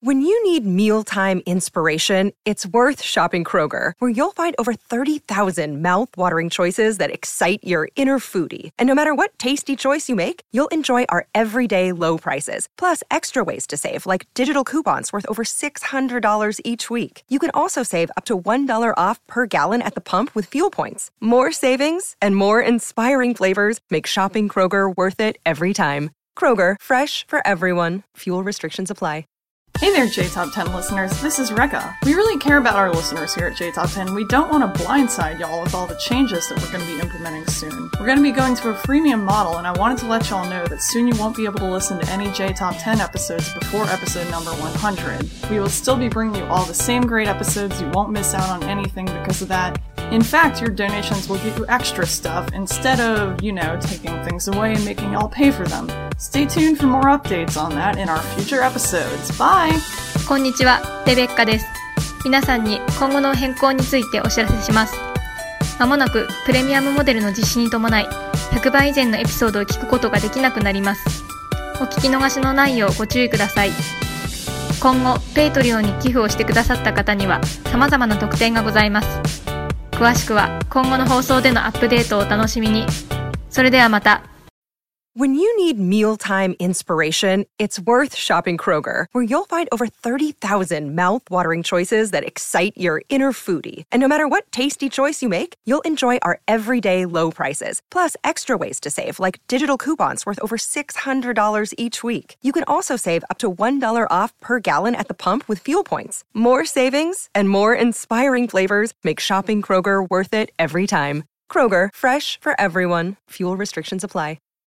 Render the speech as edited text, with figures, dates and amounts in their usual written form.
When you need mealtime inspiration, it's worth shopping Kroger, where you'll find over 30,000 mouth-watering choices that excite your inner foodie. And no matter what tasty choice you make, you'll enjoy our everyday low prices, plus extra ways to save, like digital coupons worth over $600 each week. You can also save up to $1 off per gallon at the pump with fuel points. More savings and more inspiring flavors make shopping Kroger worth it every time. Kroger, fresh for everyone. Fuel restrictions apply. Hey there, J-Top 10 listeners. This is Rekka. We really care about our listeners here at J-Top 10. We don't want to blindside y'all with all the changes that we're going to be implementing soon. We're going to be going to a freemium model, and I wanted to let y'all know that soon you won't be able to listen to any J-Top 10 episodes before episode number 100. We will still be bringing you all the same great episodes. You won't miss out on anything because of that. In fact, your donations will get you extra stuff instead of, taking things away and making y'all pay for them. Stay tuned for more updates on that in our future episodes. Bye! こんにちは、レベッカです。皆さんに今後の変更についてお知らせします。まもなくプレミアムモデルの実施に伴い、100倍以前のエピソードを聞くことができなくなります。お聞き逃しのないようご注意ください。今後、ペイトリオンに寄付をしてくださった方には様々な特典がございます。詳しくは今後の放送でのアップデートをお楽しみに。それではまた。 When you need mealtime inspiration, it's worth shopping Kroger, where you'll find over 30,000 mouth-watering choices that excite your inner foodie. And no matter what tasty choice you make, you'll enjoy our everyday low prices, plus extra ways to save, like digital coupons worth over $600 each week. You can also save up to $1 off per gallon at the pump with fuel points. More savings and more inspiring flavors make shopping Kroger worth it every time. Kroger, fresh for everyone. Fuel restrictions apply.